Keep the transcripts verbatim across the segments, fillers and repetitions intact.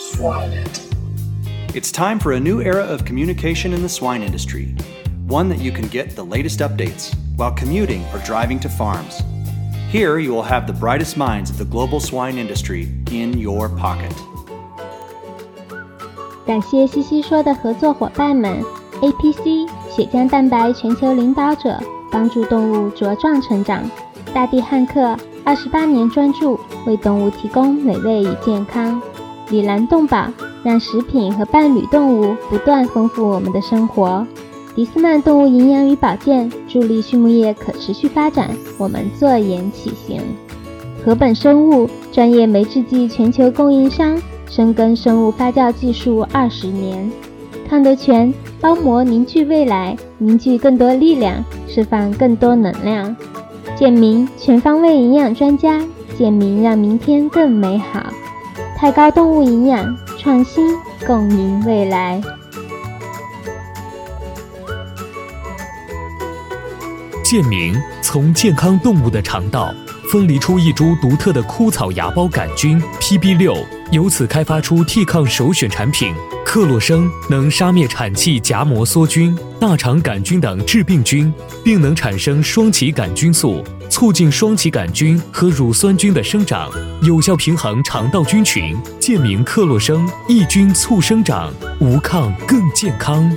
Swine it. It's time for a new era of communication in the swine industry, one that you can get the latest updates while commuting or driving to farms. Here you will have the brightest minds of the global swine industry in your pocket. 感谢西西说的合作伙伴们 A P C 血浆蛋白全球领导者，帮助动物茁壮成长。大地汉克二十八年专注为动物提供美味与健康。里兰动保让食品和伴侣动物不断丰富我们的生活。迪斯曼动物营养与保健助力畜牧业可持续发展，我们坐言起行。禾本生物专业酶制剂全球供应商，深耕生物发酵技术二十年。康德全包膜凝聚未来，凝聚更多力量，释放更多能量。健明全方位营养专家，健明让明天更美好。太高动物营养，创新共赢未来。 健明从健康动物的肠道分离出一株独特的枯草芽孢杆菌 P B 六， 由此开发出替抗首选产品克洛生，能杀灭产气荚膜梭菌、大肠杆菌等致病菌，并能产生双歧杆菌素，促进双歧杆菌和乳酸菌的生长，有效平衡肠道菌群。健明克洛生抑菌促生长，无抗更健康。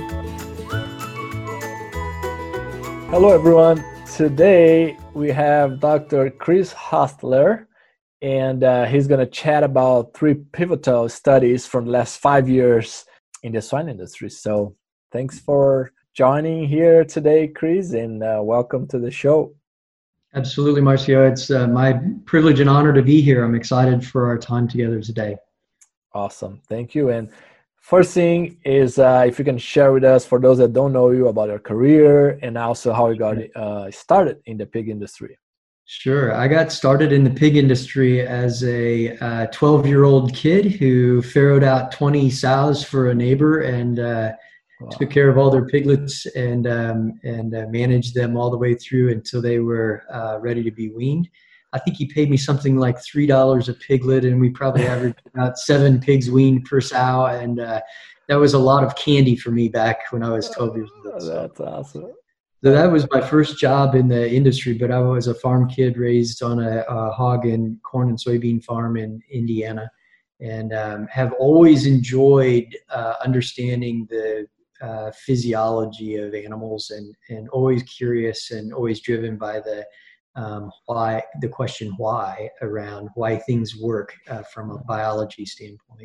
Hello everyone. Today we have Doctor Chris Hostler, and uh, he's going to chat about three pivotal studies from the last five years in the swine industry. So thanks for joining here today, Chris, and uh, welcome to the show. Absolutely, Marcio. It's uh, my privilege and honor to be here. I'm excited for our time together today. Awesome. Thank you. And first thing is uh, if you can share with us, for those that don't know you, about your career and also how you got uh, started in the pig industry. Sure. I got started in the pig industry as a uh, twelve-year-old kid who farrowed out twenty sows for a neighbor and uh, wow. took care of all their piglets and um, and uh, managed them all the way through until they were uh, ready to be weaned. I think he paid me something like three dollars a piglet, and we probably averaged about seven pigs weaned per sow. And uh, that was a lot of candy for me back when I was twelve years old. So. That's awesome. So that was my first job in the industry, but I was a farm kid raised on a, a hog and corn and soybean farm in Indiana, and um, have always enjoyed uh, understanding the uh, physiology of animals, and, and always curious and always driven by the um, why, the question why around why things work uh, from a biology standpoint.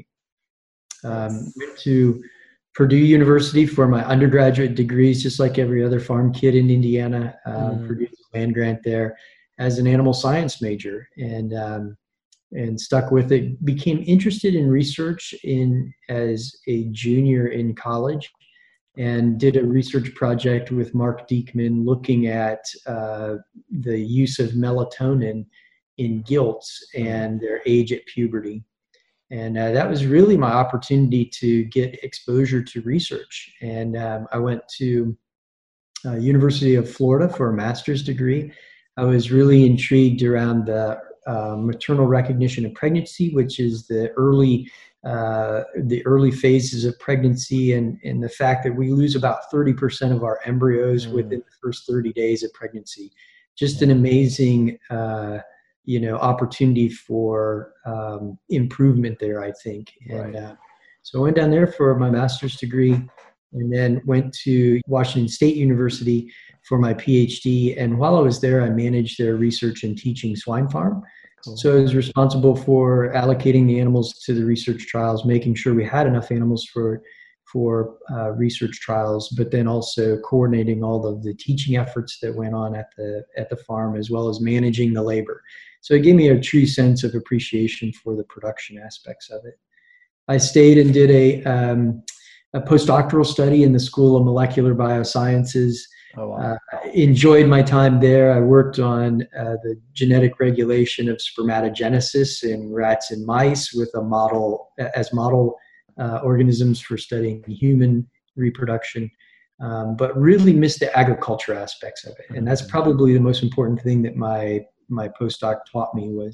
Um, went to Purdue University for my undergraduate degrees, just like every other farm kid in Indiana. Uh, mm. Purdue land grant there as an animal science major, and um, and stuck with it. Became interested in research in as a junior in college, and did a research project with Mark Diekman looking at uh, the use of melatonin in gilts and their age at puberty. And uh, that was really my opportunity to get exposure to research. And um, I went to uh, University of Florida for a master's degree. I was really intrigued around the uh, maternal recognition of pregnancy, which is the early uh, the early phases of pregnancy, and, and the fact that we lose about thirty percent of our embryos mm. within the first thirty days of pregnancy. Just an amazing uh, you know, opportunity for um, improvement there, I think. And right. uh, so I went down there for my master's degree, and then went to Washington State University for my PhD. And while I was there, I managed their research and teaching swine farm. Cool. So I was responsible for allocating the animals to the research trials, making sure we had enough animals for for uh, research trials, but then also coordinating all of the teaching efforts that went on at the at the farm, as well as managing the labor. So it gave me a true sense of appreciation for the production aspects of it. I stayed and did a, um, a postdoctoral study in the School of Molecular Biosciences. Oh, wow. uh, enjoyed my time there. I worked on uh, the genetic regulation of spermatogenesis in rats and mice with a model as model uh, organisms for studying human reproduction. Um, but really missed the agriculture aspects of it. And that's probably the most important thing that my my postdoc taught me, was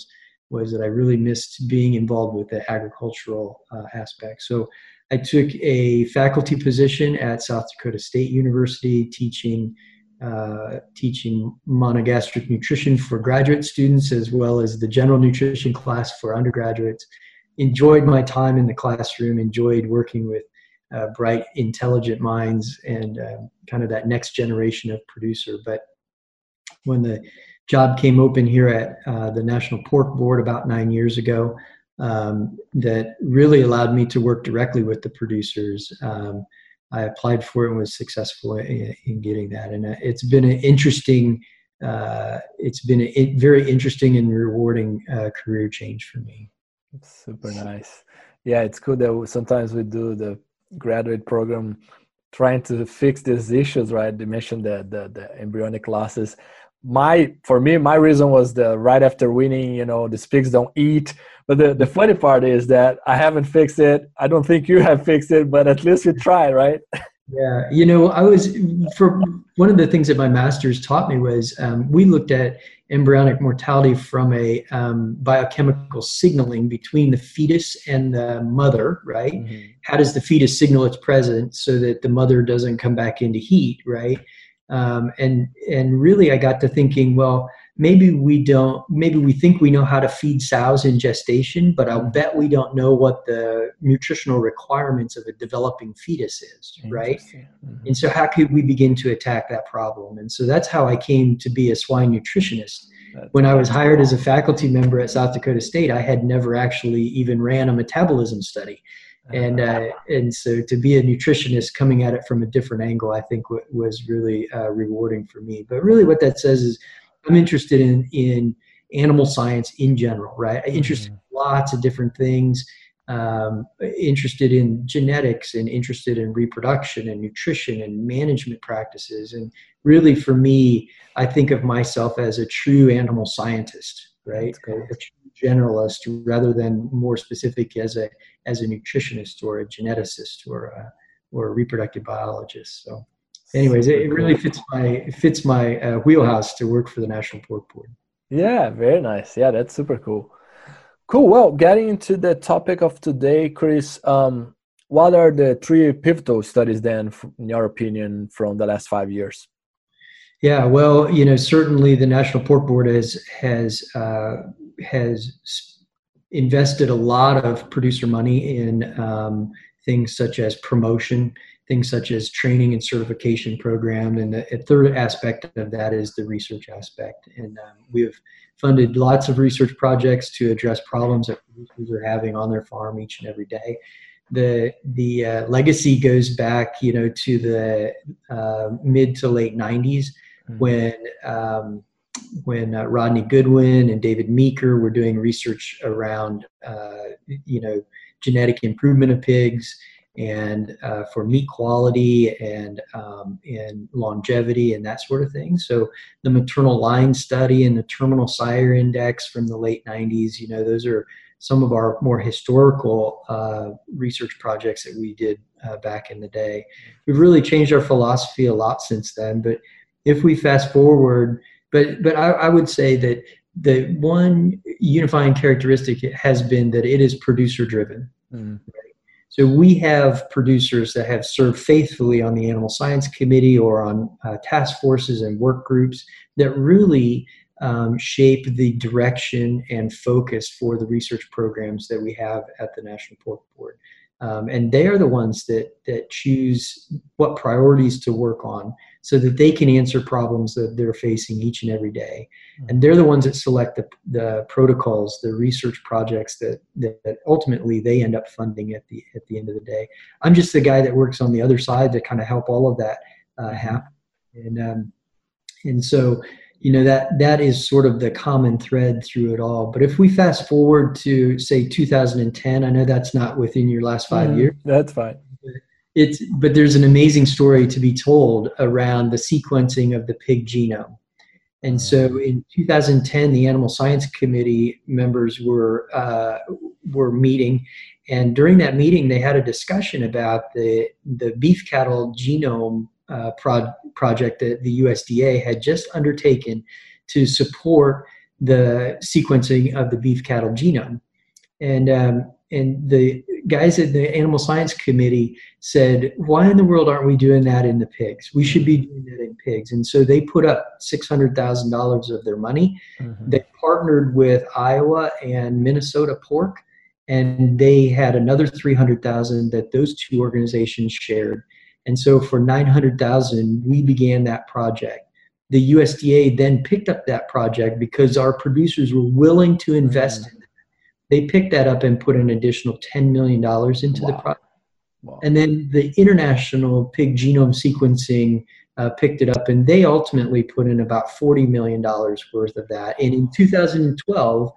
was that I really missed being involved with the agricultural uh, aspect. So I took a faculty position at South Dakota State University teaching uh, teaching monogastric nutrition for graduate students, as well as the general nutrition class for undergraduates. Enjoyed my time in the classroom, enjoyed working with uh, bright, intelligent minds and uh, kind of that next generation of producer. But when the job came open here at uh, the National Pork Board about nine years ago, um, that really allowed me to work directly with the producers. Um, I applied for it and was successful in, in getting that. And it's been an interesting, uh, it's been a very interesting and rewarding uh, career change for me. Super nice. Yeah, it's cool that sometimes we do the graduate program trying to fix these issues, right? They mentioned the, the, the embryonic losses. My, for me, my reason was the right after winning, you know, the pigs don't eat. But the, the funny part is that I haven't fixed it. I don't think you have fixed it, but at least you tried, right? Yeah. You know, I was, for one of the things that my master's taught me was um, we looked at embryonic mortality from a um, biochemical signaling between the fetus and the mother, right? Mm-hmm. How does the fetus signal its presence so that the mother doesn't come back into heat, right? Um, and and really I got to thinking, well, maybe we don't, maybe we think we know how to feed sows in gestation, but I'll bet we don't know what the nutritional requirements of a developing fetus is, right? Mm-hmm. And so how could we begin to attack that problem? And so that's how I came to be a swine nutritionist. That's when I was hired as a faculty member at South Dakota State, I had never actually even ran a metabolism study. And uh, and so to be a nutritionist coming at it from a different angle, I think w- was really uh, rewarding for me. But really what that says is I'm interested in, in animal science in general, right? I'm interested mm-hmm. in lots of different things, um, interested in genetics and interested in reproduction and nutrition and management practices. And really for me, I think of myself as a true animal scientist, right? A, a true generalist rather than more specific as a as a nutritionist or a geneticist or a, or a reproductive biologist. So anyways, it, it really fits my it fits my uh, wheelhouse to work for the National Pork Board. Yeah, very nice. Yeah, that's super cool. Cool. Well, getting into the topic of today, Chris, um, what are the three pivotal studies then, in your opinion, from the last five years? Yeah, well, you know, certainly the National Pork Board has has uh, has invested a lot of producer money in um, things such as promotion, things such as training and certification program, and the a third aspect of that is the research aspect. And um, we have funded lots of research projects to address problems that producers are having on their farm each and every day. The the uh, legacy goes back, you know, to the uh, mid to late nineties mm-hmm. when um, when uh, Rodney Goodwin and David Meeker were doing research around, uh, you know, genetic improvement of pigs and uh, for meat quality and um, and longevity and that sort of thing. So the maternal line study and the terminal sire index from the late nineties, you know, those are some of our more historical uh, research projects that we did uh, back in the day. We've really changed our philosophy a lot since then, but if we fast forward, but but I, I would say that the one unifying characteristic has been that it is producer driven. Mm. Right? So we have producers that have served faithfully on the Animal Science Committee or on uh, task forces and work groups that really um, shape the direction and focus for the research programs that we have at the National Pork Board. Um, and they are the ones that that choose what priorities to work on so that they can answer problems that they're facing each and every day. And they're the ones that select the, the protocols, the research projects that, that, that ultimately they end up funding at the at the end of the day. I'm just the guy that works on the other side to kind of help all of that uh, happen. And um, and so, you know, that that is sort of the common thread through it all. But if we fast forward to, say, two thousand ten, I know that's not within your last five mm, years. That's fine. It's, but there's an amazing story to be told around the sequencing of the pig genome. And so in two thousand ten, the Animal Science Committee members were uh, were meeting. And during that meeting, they had a discussion about the, the beef cattle genome uh, pro- project that the U S D A had just undertaken to support the sequencing of the beef cattle genome. And um, and the guys at the Animal Science Committee said, why in the world aren't we doing that in the pigs? We should be doing that in pigs. And so they put up six hundred thousand dollars of their money. Mm-hmm. They partnered with Iowa and Minnesota Pork, and they had another three hundred thousand dollars that those two organizations shared. And so for nine hundred thousand dollars, we began that project. The U S D A then picked up that project because our producers were willing to invest mm-hmm. in it. They picked that up and put an additional ten million dollars into wow. the project. Wow. And then the International Pig Genome Sequencing uh, picked it up, and they ultimately put in about forty million dollars worth of that. And in two thousand twelve,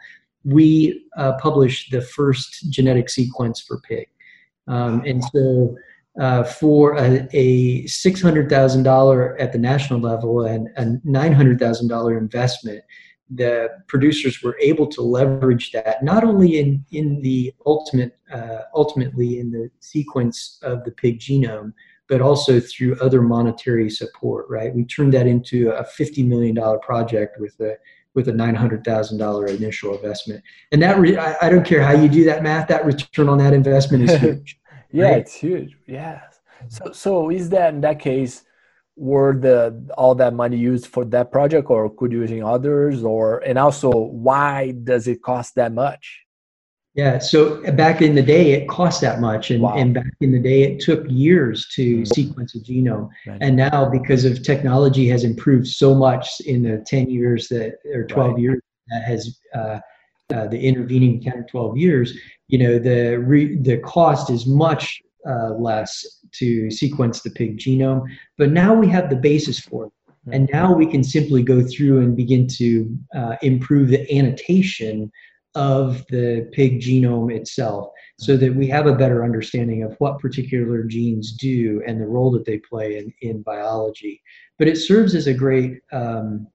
we uh, published the first genetic sequence for pig. Um, and so uh, for a, a six hundred thousand dollars at the national level and a nine hundred thousand dollars investment, the producers were able to leverage that not only in, in the ultimate, uh, ultimately in the sequence of the pig genome, but also through other monetary support, right? We turned that into a fifty million dollars project with a, with a nine hundred thousand dollars initial investment. And that, re- I, I don't care how you do that math, that return on that investment is huge. Yeah, right? It's huge. Yeah. So, so is that in that case, were the all that money used for that project, or could you using others, or and also why does it cost that much? Yeah, so back in the day, it cost that much, and, wow. and back in the day, it took years to mm-hmm. sequence a genome. Right. And now, because of technology has improved so much in the ten years that, or twelve right. years that has uh, uh, the intervening ten or twelve years, you know, the re, the cost is much uh, less to sequence the pig genome. But now we have the basis for it. And now we can simply go through and begin to uh, improve the annotation of the pig genome itself so that we have a better understanding of what particular genes do and the role that they play in, in biology. But it serves as a great um,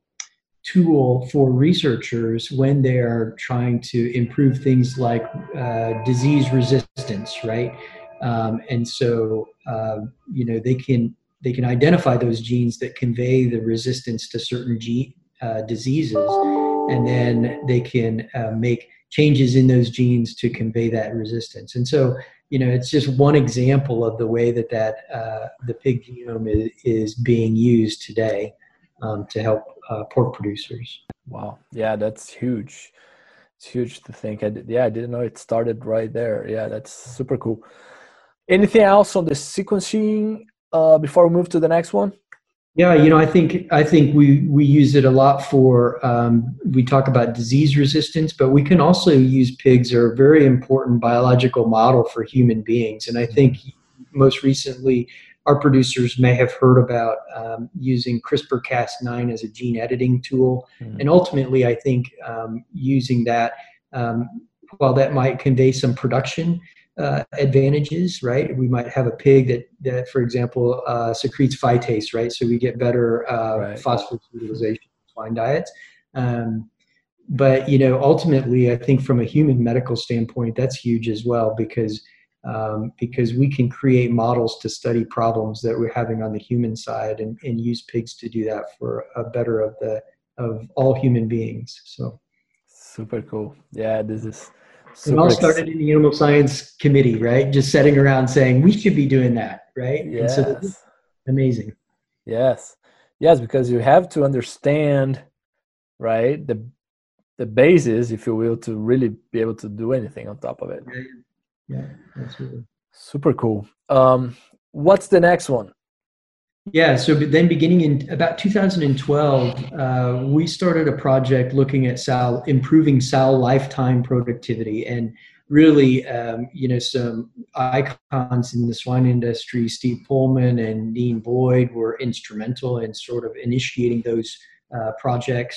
tool for researchers when they are trying to improve things like uh, disease resistance, right? Um, and so, uh, you know, they can they can identify those genes that convey the resistance to certain gene, uh, diseases, and then they can uh, make changes in those genes to convey that resistance. And so, you know, it's just one example of the way that that uh, the pig genome is, is being used today um, to help uh, pork producers. Wow. Yeah, that's huge. It's huge to think. I did, yeah, I didn't know it started right there. Yeah, that's super cool. Anything else on the sequencing uh, before we move to the next one? Yeah, you know, I think I think we we use it a lot for um, we talk about disease resistance, but we can also use pigs are a very important biological model for human beings. And I think most recently, our producers may have heard about um, using CRISPR Cas nine as a gene editing tool, mm-hmm. and ultimately, I think um, using that, um, while that might convey some production Uh, advantages, right? We might have a pig that, that for example, uh, secretes phytase, right? So we get better uh, right. phosphorus utilization in swine diets. Um, but, you know, ultimately, I think from a human medical standpoint, that's huge as well, because um, because we can create models to study problems that we're having on the human side and, and use pigs to do that for a better of the of all human beings. So super cool. Yeah, this is It all started in the Animal Science Committee, right? Just sitting around saying we should be doing that, right? Yes. And so amazing. Yes. Yes, because you have to understand, right, the the basis, if you will, to really be able to do anything on top of it. Yeah, yeah, absolutely. Super cool. Um, what's the next one? Yeah, so then beginning in about two thousand twelve, uh, we started a project looking at sow, improving sow lifetime productivity. And really, um, you know, some icons in the swine industry, Steve Pullman and Dean Boyd, were instrumental in sort of initiating those uh, projects.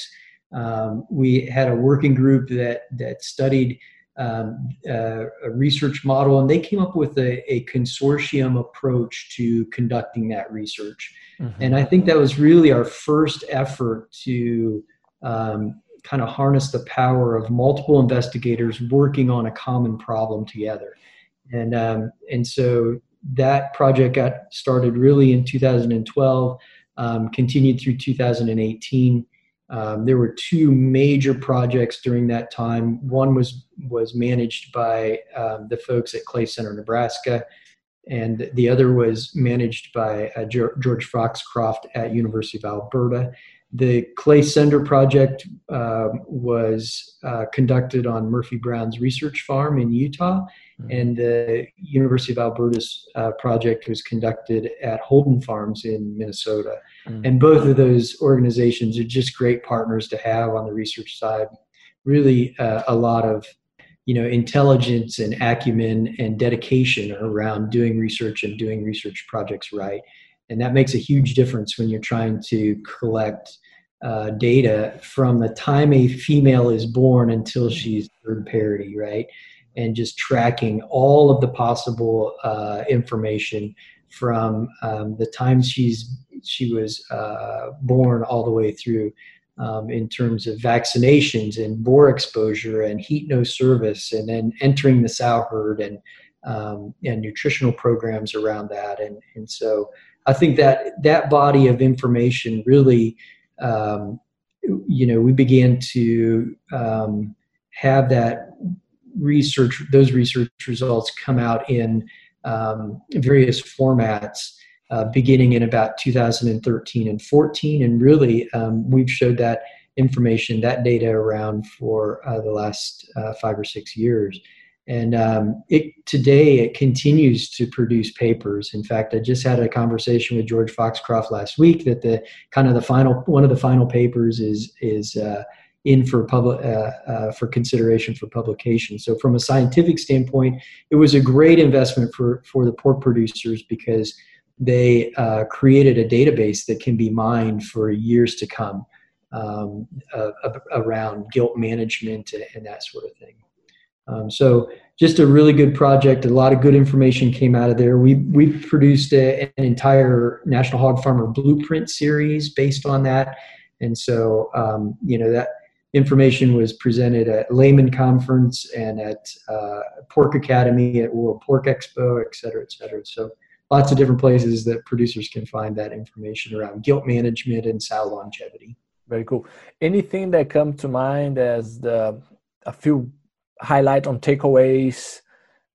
Um, we had a working group that, that studied Um, uh, a research model, and they came up with a, a consortium approach to conducting that research. Mm-hmm. And I think that was really our first effort to um, kind of harness the power of multiple investigators working on a common problem together. And um, and so that project got started really in two thousand twelve, um, continued through two thousand eighteen. Um, there were two major projects during that time. One was was managed by um, the folks at Clay Center, Nebraska, and the other was managed by uh, George Foxcroft at University of Alberta. The Clay Center project uh, was uh, conducted on Murphy Brown's research farm in Utah, mm-hmm. and the University of Alberta's uh, project was conducted at Holden Farms in Minnesota. Mm-hmm. And both of those organizations are just great partners to have on the research side. Really uh, a lot of you know, intelligence and acumen and dedication around doing research and doing research projects right. And that makes a huge difference when you're trying to collect uh, data from the time a female is born until she's third parity, right? And just tracking all of the possible uh, information from um, the time she's she was uh, born all the way through. Um, in terms of vaccinations and boar exposure and heat no service, and then entering the sow herd and um, and nutritional programs around that. And and so I think that that body of information really, um, you know, we began to um, have that research, those research results come out in um, various formats. Uh, beginning in about two thousand thirteen and fourteen, and really um, we've showed that information, that data around for uh, the last uh, five or six years. And um, it today it continues to produce papers. In fact, I just had a conversation with George Foxcroft last week that the kind of the final one of the final papers is is uh, in for public uh, uh, for consideration for publication. So from a scientific standpoint, it was a great investment for for the pork producers, because they uh, created a database that can be mined for years to come um, uh, around gilt management and that sort of thing. Um, so just a really good project. A lot of good information came out of there. We we produced a, an entire National Hog Farmer Blueprint series based on that. And so, um, you know, that information was presented at Layman Conference and at uh, Pork Academy, at World Pork Expo, et cetera, et cetera. So lots of different places that producers can find that information around gilt management and sow longevity. Very cool. Anything that come to mind as the a few highlight on takeaways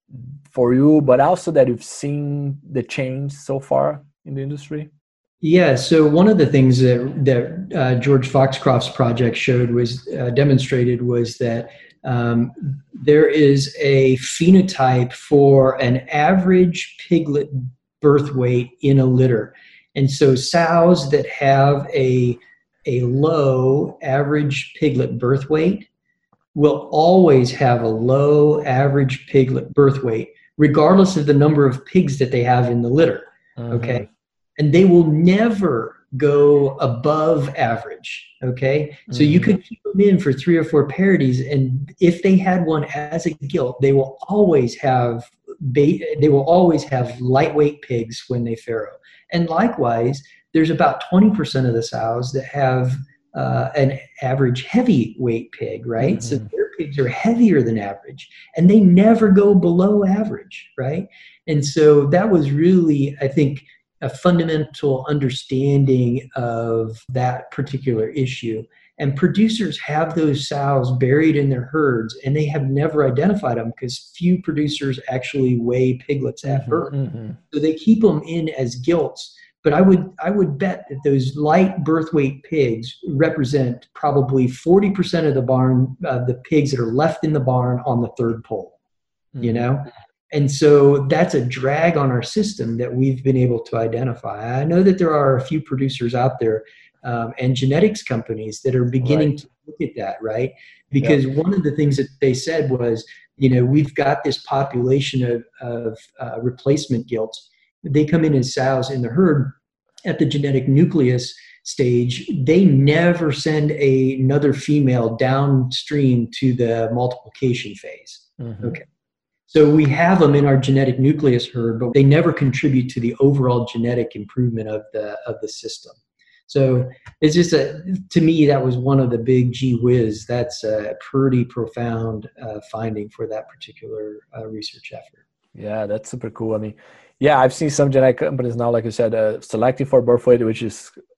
for you, but also that you've seen the change so far in the industry? Yeah, so one of the things that that uh, George Foxcroft's project showed was uh, demonstrated was that um, there is a phenotype for an average piglet birth weight in a litter. And so sows that have a, a low average piglet birth weight will always have a low average piglet birth weight, regardless of the number of pigs that they have in the litter, mm-hmm. okay? And they will never go above average, okay? Mm-hmm. So you could keep them in for three or four parities, and if they had one as a gilt, they will always have they will always have lightweight pigs when they farrow. And likewise, there's about twenty percent of the sows that have uh, an average heavyweight pig, right? Mm-hmm. So their pigs are heavier than average, and they never go below average, right? And so that was really, I think, a fundamental understanding of that particular issue. And producers have those sows buried in their herds, and they have never identified them because few producers actually weigh piglets at mm-hmm, birth. Mm-hmm. So they keep them in as gilts. But I would I would bet that those light birth weight pigs represent probably forty percent of the barn, uh, the pigs that are left in the barn on the third pole, mm-hmm. you know? And so that's a drag on our system that we've been able to identify. I know that there are a few producers out there Um, and genetics companies that are beginning right. to look at that, right? Because yep. one of the things that they said was, you know, we've got this population of, of uh, replacement gilts. They come in as sows in the herd at the genetic nucleus stage. They never send a, another female downstream to the multiplication phase. Mm-hmm. Okay. So we have them in our genetic nucleus herd, but they never contribute to the overall genetic improvement of the of the system. So it's just a, to me, that was one of the big gee whiz. That's a pretty profound uh, finding for that particular uh, research effort. Yeah, that's super cool. I mean, yeah, I've seen some genetic companies now, like you said, uh, selecting for birth weight, which is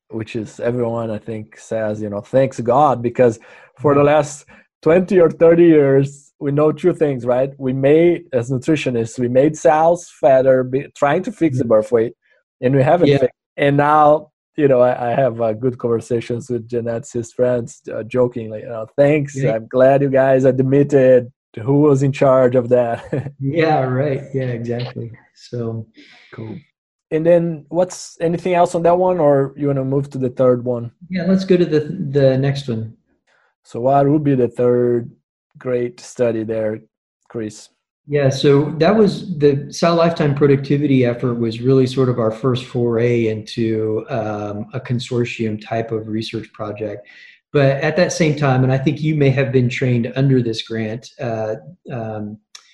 which is everyone I think says, you know, thanks God, because for the last twenty or thirty years, we know two things, right? We made, as nutritionists, we made sows fatter, be, trying to fix the birth weight, and we haven't Yeah. fixed. And now, you know, I, I have uh, good conversations with geneticists friends, uh, jokingly, you know, thanks. Yeah. I'm glad you guys admitted who was in charge of that. Yeah, right. Yeah, exactly. So cool. And then what's anything else on that one, or you want to move to the third one? Yeah, let's go to the the next one. So what would be the third great study there, Chris? Yeah, so that was the Sow Lifetime Productivity effort was really sort of our first foray into um, a consortium type of research project. But at that same time, and I think you may have been trained under this grant, uh, um,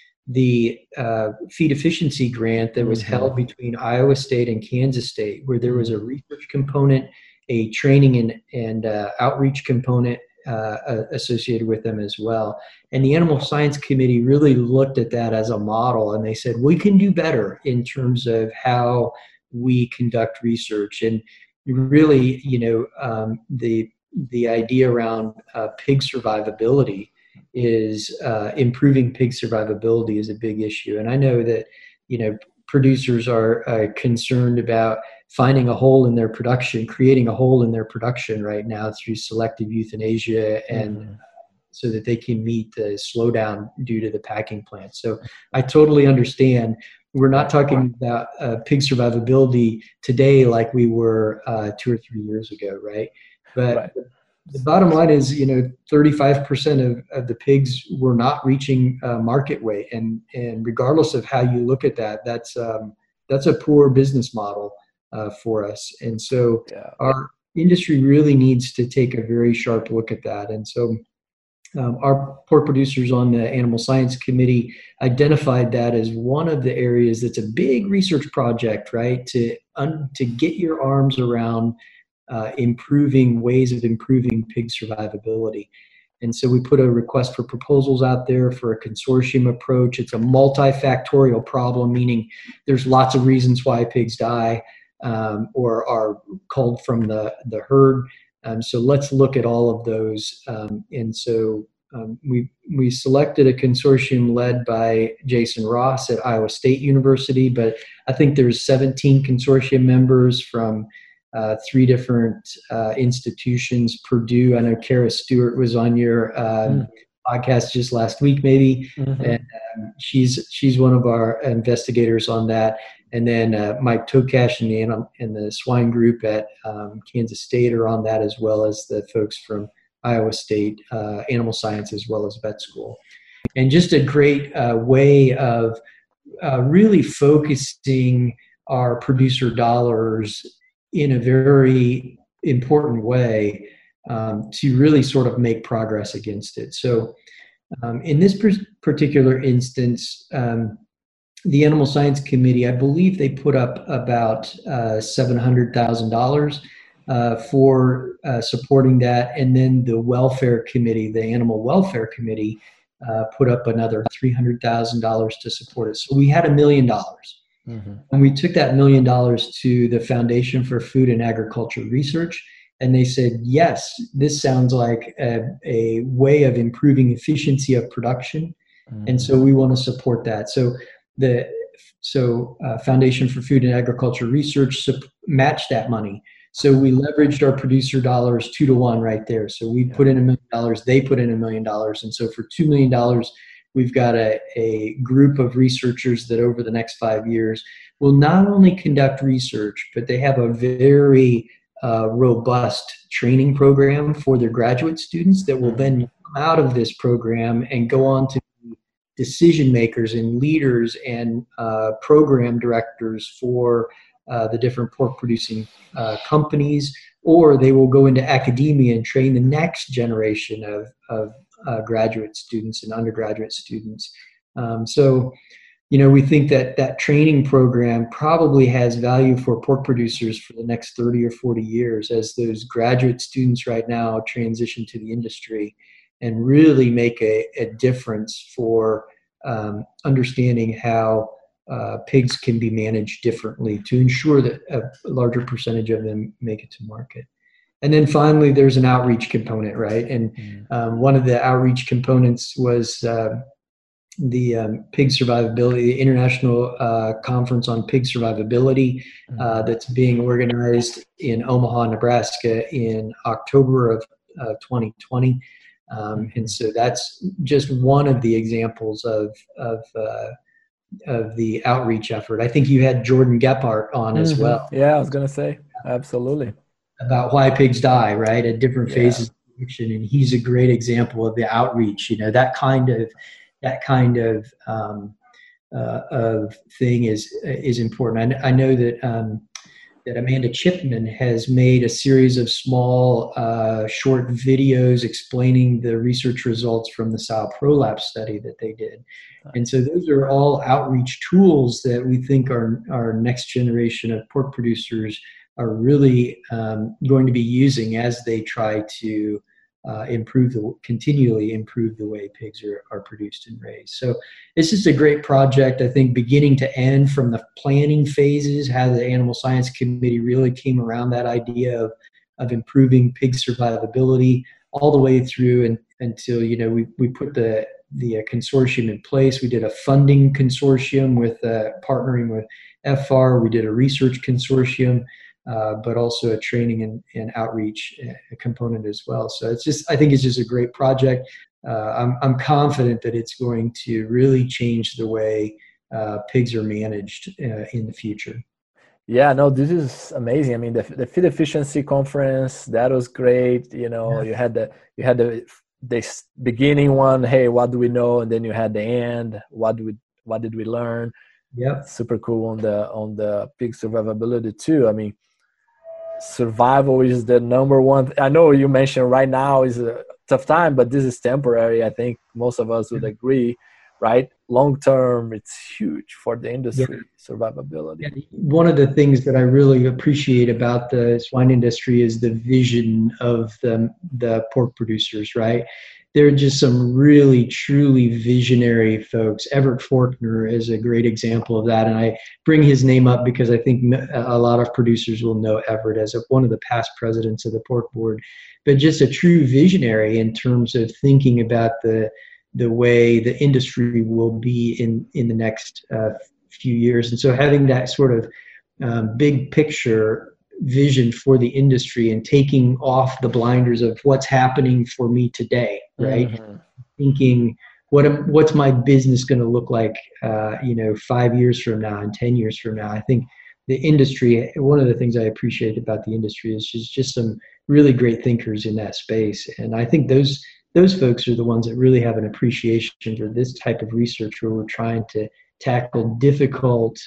the uh, feed efficiency grant that was mm-hmm. held between Iowa State and Kansas State, where there was a research component, a training and, and uh, outreach component uh, associated with them as well. And the Animal Science Committee really looked at that as a model, and they said, we can do better in terms of how we conduct research. And really, you know, um, the, the idea around uh, pig survivability is uh, improving pig survivability is a big issue. And I know that, you know, producers are uh, concerned about finding a hole in their production, creating a hole in their production right now through selective euthanasia, and mm-hmm. so that they can meet the slowdown due to the packing plants. So I totally understand. We're not talking about uh, pig survivability today like we were uh, two or three years ago, right? But right. The bottom line is, you know, thirty-five percent of, of the pigs were not reaching uh, market weight. And, and regardless of how you look at that, that's, um, that's a poor business model uh, for us. And so yeah. our industry really needs to take a very sharp look at that. And so um, our pork producers on the Animal Science Committee identified that as one of the areas that's a big research project, right? To, un, to get your arms around Uh, improving ways of improving pig survivability. And so we put a request for proposals out there for a consortium approach. It's a multifactorial problem, meaning there's lots of reasons why pigs die um, or are culled from the, the herd. Um, so let's look at all of those. Um, and so um, we, we selected a consortium led by Jason Ross at Iowa State University, but I think there's seventeen consortium members from Uh, three different uh, institutions. Purdue, I know Kara Stewart was on your uh, mm. podcast just last week, maybe, mm-hmm. and um, she's she's one of our investigators on that. And then uh, Mike Tokash and the and the swine group at um, Kansas State are on that, as well as the folks from Iowa State uh, Animal Science as well as Vet School. And just a great uh, way of uh, really focusing our producer dollars in a very important way um, to really sort of make progress against it. So um, in this per- particular instance, um, the Animal Science Committee, I believe they put up about uh, seven hundred thousand dollars uh, for uh, supporting that. And then the Welfare Committee, the Animal Welfare Committee, uh, put up another three hundred thousand dollars to support it. So we had a million dollars. Mm-hmm. And we took that million dollars to the Foundation for Food and Agriculture Research, and they said, yes, this sounds like a, a way of improving efficiency of production, mm-hmm. and so we want to support that. So the so uh, Foundation for Food and Agriculture Research sup- matched that money. So we leveraged our producer dollars two to one right there. So we yeah. put in a million dollars, they put in a million dollars, and so for two million dollars, we've got a, a group of researchers that over the next five years will not only conduct research, but they have a very uh, robust training program for their graduate students that will then come out of this program and go on to be decision makers and leaders and uh, program directors for uh, the different pork producing uh, companies, or they will go into academia and train the next generation of, of Uh, graduate students and undergraduate students. Um, so, you know, we think that that training program probably has value for pork producers for the next thirty or forty years as those graduate students right now transition to the industry and really make a, a difference for um, understanding how uh, pigs can be managed differently to ensure that a larger percentage of them make it to market. And then finally, there's an outreach component, right? And um, one of the outreach components was uh, the um, pig survivability, the International uh, Conference on Pig Survivability uh, that's being organized in Omaha, Nebraska in October of uh, twenty twenty. Um, and so that's just one of the examples of, of, uh, of the outreach effort. I think you had Jordan Gephardt on mm-hmm. as well. Yeah, I was going to say, absolutely. About why pigs die, right, at different phases yeah. of addiction. And he's a great example of the outreach, you know, that kind of, that kind of, um, uh, of thing is, is important. I, I know that, um, that Amanda Chipman has made a series of small, uh, short videos explaining the research results from the sow prolapse study that they did. And so those are all outreach tools that we think our, our next generation of pork producers are really um, going to be using as they try to uh, improve the, continually improve the way pigs are, are produced and raised. So this is a great project, I think, beginning to end, from the planning phases, how the Animal Science Committee really came around that idea of, of improving pig survivability, all the way through and, until, you know, we, we put the, the uh, consortium in place. We did a funding consortium with uh, partnering with F R. We did a research consortium. Uh, but also a training and, and outreach uh, component as well. So it's just, I think it's just a great project. Uh, I'm, I'm confident that it's going to really change the way uh, pigs are managed uh, in the future. Yeah, no, this is amazing. I mean, the, the feed efficiency conference, that was great. You know, yeah. you had the, you had the, this beginning one, hey, what do we know? And then you had the end, what do we, what did we learn? Yeah. Super cool on the, on the pig survivability too. I mean, survival is the number one. I know you mentioned right now is a tough time, but this is temporary. I think most of us would agree, right? Long term, it's huge for the industry, yeah. survivability. Yeah. One of the things that I really appreciate about the swine industry is the vision of the, the pork producers, right? There are just some really, truly visionary folks. Everett Forkner is a great example of that. And I bring his name up because I think a lot of producers will know Everett as a, one of the past presidents of the pork board, but just a true visionary in terms of thinking about the, the way the industry will be in, in the next uh, few years. And so having that sort of um, big picture vision for the industry and taking off the blinders of what's happening for me today, right? Mm-hmm. Thinking, what am, what's my business going to look like, uh, you know, five years from now and ten years from now? I think the industry, one of the things I appreciate about the industry is just, just some really great thinkers in that space. And I think those, those folks are the ones that really have an appreciation for this type of research where we're trying to tackle difficult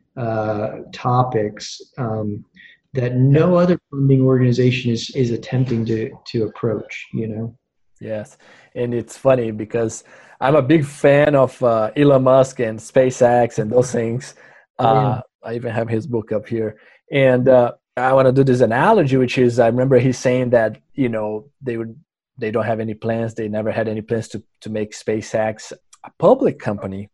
uh, topics, um, that no other funding organization is, is attempting to, to approach, you know? Yes. And it's funny because I'm a big fan of uh, Elon Musk and SpaceX and those things. Uh, I even have his book up here. And uh, I want to do this analogy, which is, I remember he's saying that, you know, they would, they don't have any plans. They never had any plans to, to make SpaceX a public company.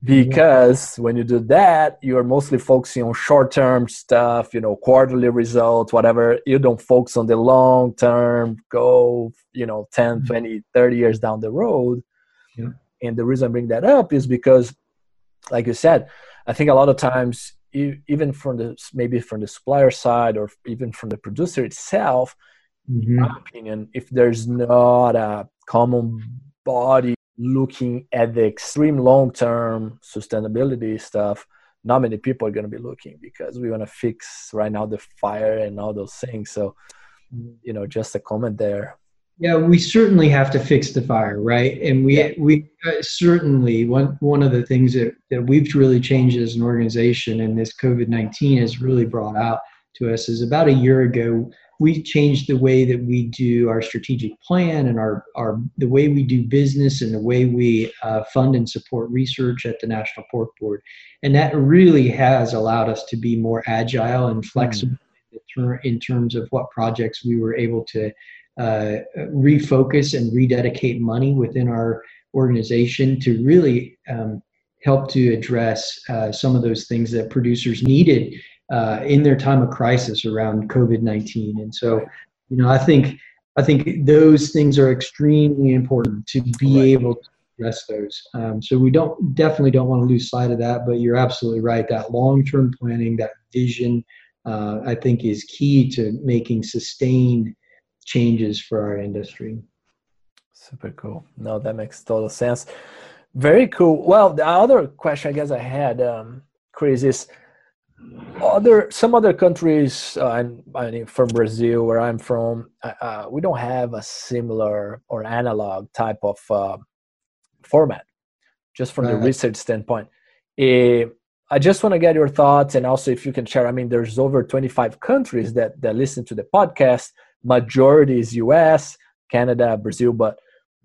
Because when you do that, you're mostly focusing on short-term stuff, you know, quarterly results, whatever. You don't focus on the long-term goal, you know, ten, twenty, thirty years down the road. Yeah. And the reason I bring that up is because, like you said, I think a lot of times, even from the, maybe from the supplier side or even from the producer itself, mm-hmm. in my opinion, if there's not a common body looking at the extreme long-term sustainability stuff, not many people are going to be looking because we want to fix right now the fire and all those things. So, you know, just a comment there. Yeah, we certainly have to fix the fire, right? And we yeah. we uh, certainly, one one of the things that, that we've really changed as an organization, and this COVID nineteen has really brought out to us, is about a year ago, we changed the way that we do our strategic plan and our, our the way we do business and the way we uh, fund and support research at the National Pork Board. And that really has allowed us to be more agile and flexible mm. in terms of what projects we were able to uh, refocus and rededicate money within our organization to really um, helped to address uh, some of those things that producers needed uh, in their time of crisis around COVID nineteen. And so, you know, I think I think those things are extremely important to be right. able to address those. Um, so we don't definitely don't want to lose sight of that. But you're absolutely right. That long-term planning, that vision, uh, I think, is key to making sustained changes for our industry. Super cool. No, that makes total sense. Very cool. Well, the other question I guess I had, um, Chris, is other some other countries, uh, I'm, I'm from Brazil, where I'm from, uh, we don't have a similar or analog type of uh, format, just from right. the research standpoint. Uh, I just want to get your thoughts, and also if you can share, I mean, there's over twenty-five countries that, that listen to the podcast. Majority is U S, Canada, Brazil, but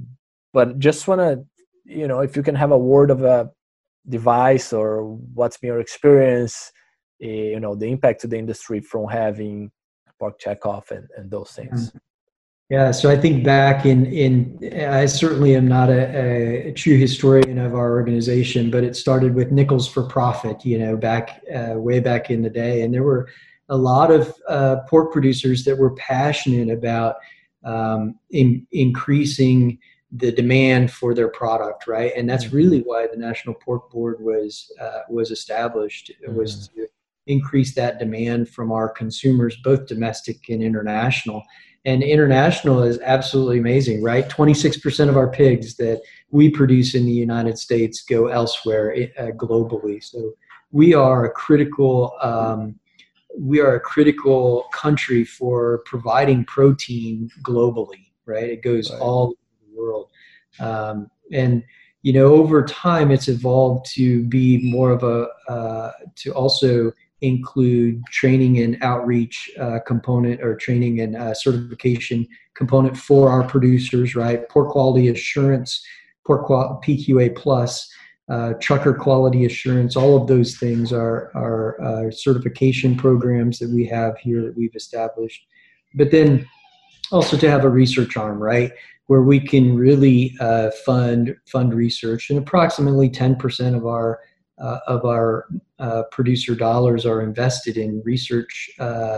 but just want to, you know, if you can have a word of a device or what's been your experience, uh, you know, the impact to the industry from having pork checkoff and, and those things. Yeah, so I think back in, in I certainly am not a, a true historian of our organization, but it started with Nichols for Profit, you know, back uh, way back in the day. And there were a lot of uh, pork producers that were passionate about um, in, increasing the demand for their product, right? And that's really why the National Pork Board was uh, was established. It mm-hmm. was to increase that demand from our consumers, both domestic and international. And international is absolutely amazing, right? twenty-six percent of our pigs that we produce in the United States go elsewhere uh, globally. So we are a critical um, we are a critical country for providing protein globally, right? It goes right. all over the world. Um, and, you know, over time, it's evolved to be more of a, uh, to also include training and outreach uh, component, or training and uh, certification component for our producers, right? Pork quality assurance, pork qual- P Q A plus, uh, trucker quality assurance, all of those things are, are uh, certification programs that we have here that we've established. But then also to have a research arm, right, where we can really uh, fund fund research, and approximately ten percent of our uh, of our uh, producer dollars are invested in research uh,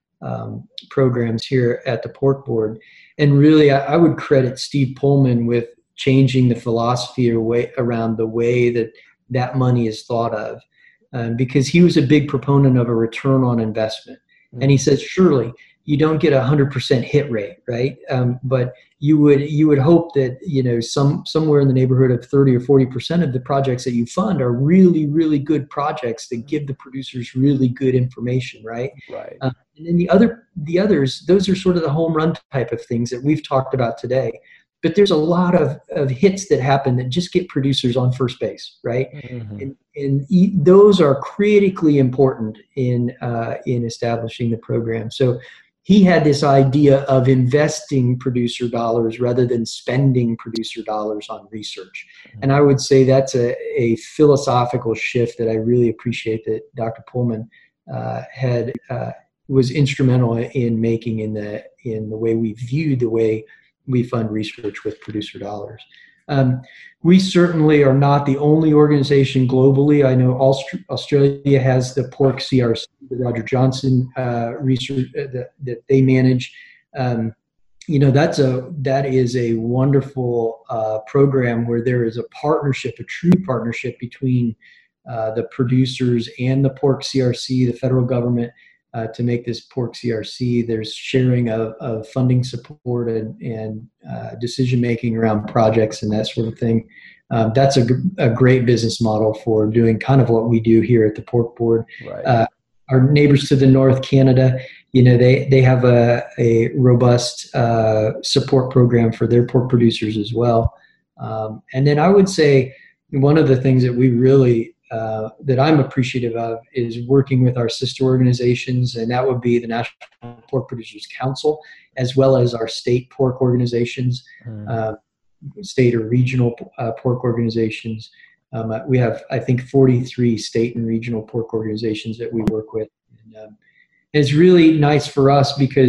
um, programs here at the Pork Board. And really, I, I would credit Steve Pullman with changing the philosophy or way, around the way that that money is thought of, um, because he was a big proponent of a return on investment. Mm-hmm. And he says, surely you don't get a hundred percent hit rate, right? Um, but you would you would hope that, you know, some somewhere in the neighborhood of thirty or forty percent of the projects that you fund are really, really good projects that give the producers really good information, right? Right. Uh, and then the other the others, those are sort of the home run type of things that we've talked about today. But there's a lot of, of hits that happen that just get producers on first base, right? Mm-hmm. And, and e- those are critically important in uh, in establishing the program. So he had this idea of investing producer dollars rather than spending producer dollars on research. Mm-hmm. And I would say that's a, a philosophical shift that I really appreciate that Doctor Pullman uh, had uh, was instrumental in making in the in the way we view the way we fund research with producer dollars. Um, we certainly are not the only organization globally. I know Aust- Australia has the Pork C R C, the Roger Johnson uh, research uh, that, that they manage. Um, you know, that's a that is a wonderful uh, program where there is a partnership, a true partnership between uh, the producers and the Pork C R C, the federal government. Uh, to make this Pork C R C, there's sharing of, of funding support and, and uh, decision-making around projects and that sort of thing. Um, that's a, g- a great business model for doing kind of what we do here at the Pork Board. Right. Uh, our neighbors to the north, Canada, you know, they, they have a, a robust uh, support program for their pork producers as well. Um, and then I would say one of the things that we really Uh, that I'm appreciative of is working with our sister organizations, and that would be the National Pork Producers Council, as well as our state pork organizations, mm. uh, state or regional uh, pork organizations. Um, we have, I think, forty-three state and regional pork organizations that we work with. And, um, and it's really nice for us because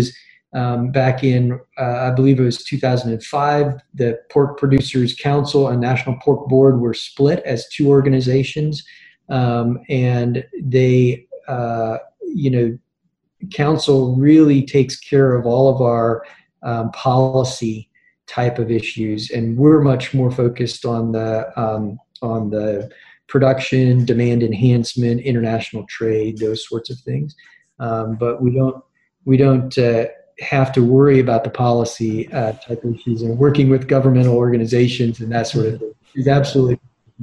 Um, back in, uh, I believe it was two thousand five, the Pork Producers Council and National Pork Board were split as two organizations. Um, and they, uh, you know, council really takes care of all of our um, policy type of issues. And we're much more focused on the, um, on the production, demand enhancement, international trade, those sorts of things. Um, but we don't, we don't, uh, have to worry about the policy uh, type of issues, and working with governmental organizations and that sort of thing is absolutely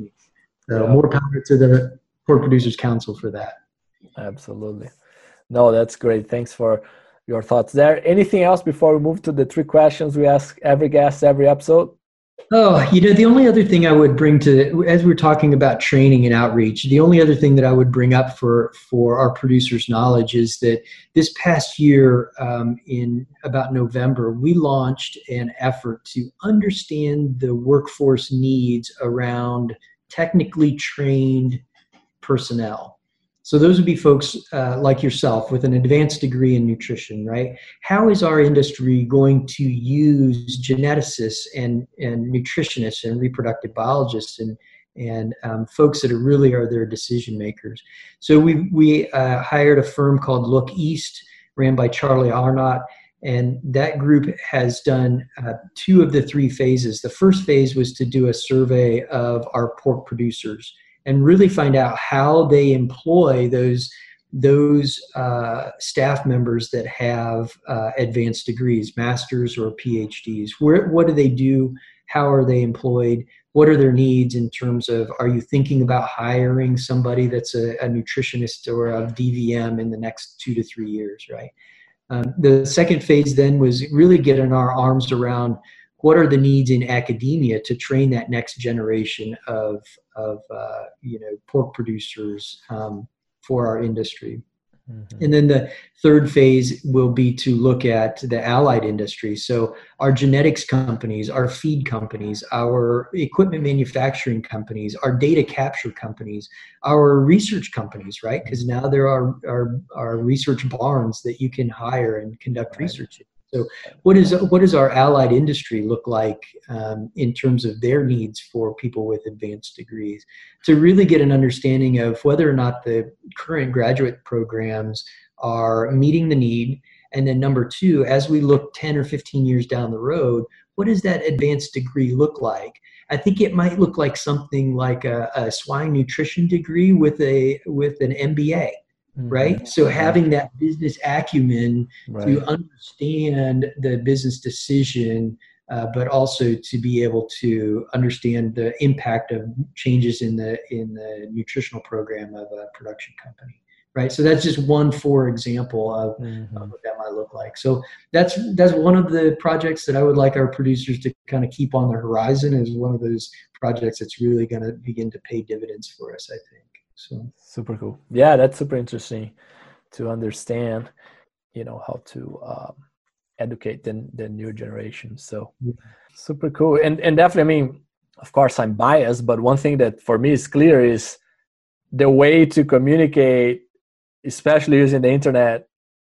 so. More power to the Pork Producers Council for that. Absolutely. No, that's great. Thanks for your thoughts there. Anything else before we move to the three questions we ask every guest every episode? Oh, you know, the only other thing I would bring to, as we're talking about training and outreach, the only other thing that I would bring up for, for our producers' knowledge is that this past year, um, in about November, we launched an effort to understand the workforce needs around technically trained personnel. So those would be folks uh, like yourself with an advanced degree in nutrition, right? How is our industry going to use geneticists and, and nutritionists and reproductive biologists and, and um, folks that are really are their decision makers? So we, we uh, hired a firm called Look East, ran by Charlie Arnott, and that group has done uh, two of the three phases. The first phase was to do a survey of our pork producers and really find out how they employ those, those uh, staff members that have uh, advanced degrees, masters or PhDs. Where, what do they do? How are they employed? What are their needs in terms of, are you thinking about hiring somebody that's a, a nutritionist or a D V M in the next two to three years, right? Um, the second phase then was really getting our arms around what are the needs in academia to train that next generation of, of uh, you know, pork producers um, for our industry. Mm-hmm. And then the third phase will be to look at the allied industry. So our genetics companies, our feed companies, our equipment manufacturing companies, our data capture companies, our research companies, right? Because now there are, are, are research barns that you can hire and conduct research in. So what is what does our allied industry look like um, in terms of their needs for people with advanced degrees, to really get an understanding of whether or not the current graduate programs are meeting the need? And then number two, as we look ten or fifteen years down the road, what does that advanced degree look like? I think it might look like something like a, a swine nutrition degree with a with an M B A. Right. Mm-hmm. So having that business acumen right. to understand the business decision, uh, but also to be able to understand the impact of changes in the in the nutritional program of a production company. Right. So that's just one for example of, mm-hmm. of what that might look like. So that's that's one of the projects that I would like our producers to kind of keep on the horizon, is one of those projects that's really going to begin to pay dividends for us, I think. So super cool. Yeah, that's super interesting to understand, you know, how to um, educate the, the new generation. So yeah. Super cool. And and definitely, I mean, of course I'm biased, but one thing that for me is clear is the way to communicate, especially using the internet.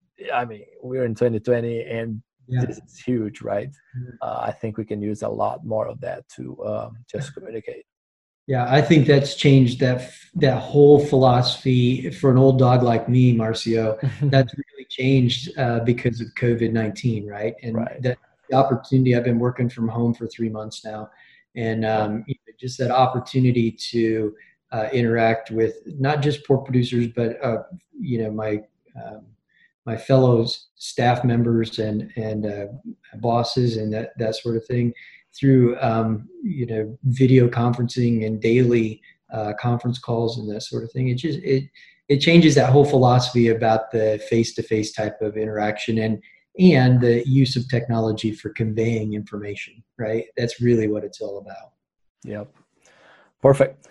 I mean, we're in twenty twenty and yeah. this is huge, right? Yeah. Uh, I think we can use a lot more of that to um, just communicate. Yeah, I think that's changed that that whole philosophy for an old dog like me, Marcio. That's really changed uh, because of COVID nineteen, right? And right. that the opportunity, I've been working from home for three months now, and um, you know, just that opportunity to uh, interact with not just pork producers, but uh, you know, my um, my fellow staff members and and uh, bosses and that that sort of thing, through um, you know, video conferencing and daily uh, conference calls and that sort of thing. It just it it changes that whole philosophy about the face-to-face type of interaction and and the use of technology for conveying information. Right, that's really what it's all about. Yep, perfect.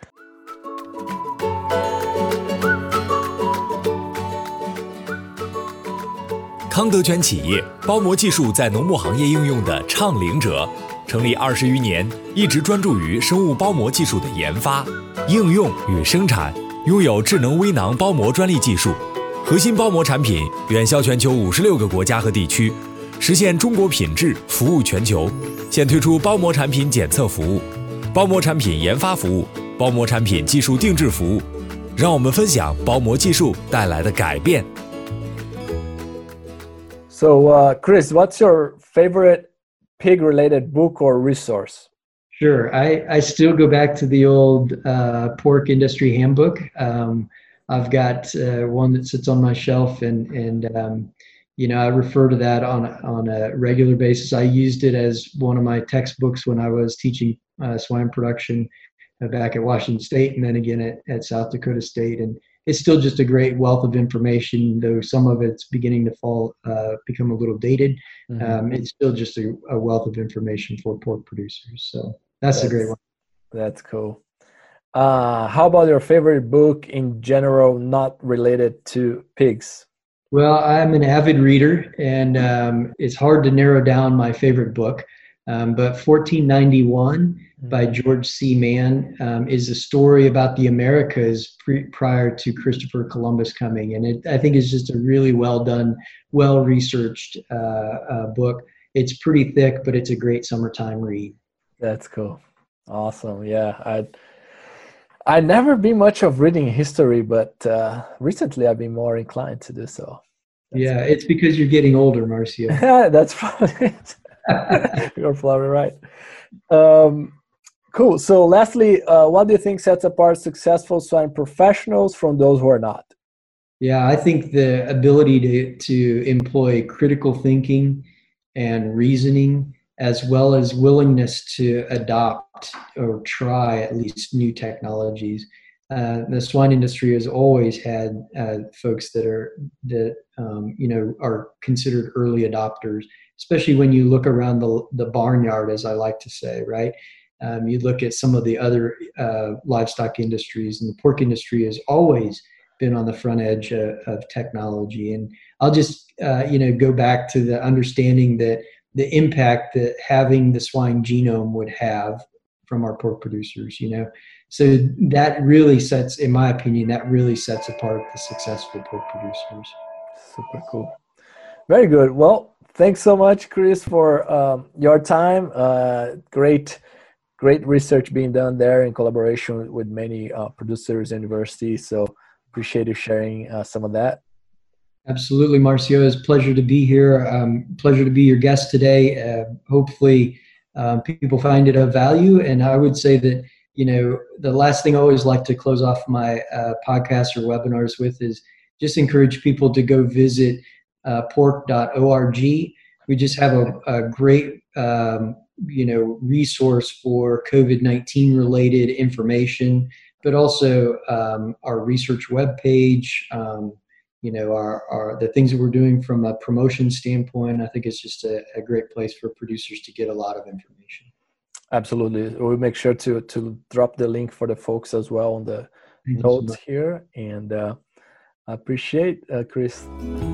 康德全企业包膜技术在农牧行业应用的倡领者。成立二十余年，一直专注于生物包膜技术的研发、应用与生产，拥有智能微囊包膜专利技术，核心包膜产品远销全球五十六个国家和地区， 实现中国品质服务全球。现推出包膜产品检测服务、包膜产品研发服务、包膜产品技术定制服务。让我们分享包膜技术带来的改变。 So, uh, Chris, what's your favorite pig-related book or resource? Sure. I, I still go back to the old uh, pork industry handbook. Um, I've got uh, one that sits on my shelf, and and um, you know, I refer to that on on a regular basis. I used it as one of my textbooks when I was teaching uh, swine production back at Washington State, and then again at, at South Dakota State. And it's still just a great wealth of information, though some of it's beginning to fall, uh, become a little dated. Mm-hmm. Um, it's still just a, a wealth of information for pork producers. So that's, that's a great one. That's cool. Uh, how about your favorite book in general, not related to pigs? Well, I'm an avid reader, and um, it's hard to narrow down my favorite book. Um, but fourteen ninety-one by George C. Mann um, is a story about the Americas pre- prior to Christopher Columbus coming. And it, I think it's just a really well done, well researched uh, uh, book. It's pretty thick, but it's a great summertime read. That's cool. Awesome. Yeah. I'd, I'd never been much of reading history, but uh, recently I've been more inclined to do so. That's yeah, cool. It's because you're getting older, Marcio. That's probably it. You're probably right. Um, cool. So lastly, uh, what do you think sets apart successful swine professionals from those who are not? Yeah, I think the ability to, to employ critical thinking and reasoning, as well as willingness to adopt or try at least new technologies. Uh, the swine industry has always had uh, folks that are that um, you know are considered early adopters, especially when you look around the the barnyard, as I like to say, right? Um, you look at some of the other uh, livestock industries, and the pork industry has always been on the front edge of, of technology. And I'll just uh, you know go back to the understanding that the impact that having the swine genome would have from our pork producers, you know. So that really sets, in my opinion, that really sets apart the successful pork producers. Super cool. Very good. Well, thanks so much, Chris, for um, your time. Uh, great, great research being done there in collaboration with many uh, producers and universities. So appreciate you sharing uh, some of that. Absolutely, Marcio. It's a pleasure to be here. Um, pleasure to be your guest today. Uh, hopefully um, people find it of value. And I would say that, you know, the last thing I always like to close off my uh, podcasts or webinars with is just encourage people to go visit uh, pork dot org. We just have a, a great, um, you know, resource for COVID nineteen related information, but also um, our research webpage, um, you know, our, our the things that we're doing from a promotion standpoint. I think it's just a, a great place for producers to get a lot of information. Absolutely. We'll make sure to to drop the link for the folks as well on the Thank notes so here. And uh, I appreciate uh, Chris.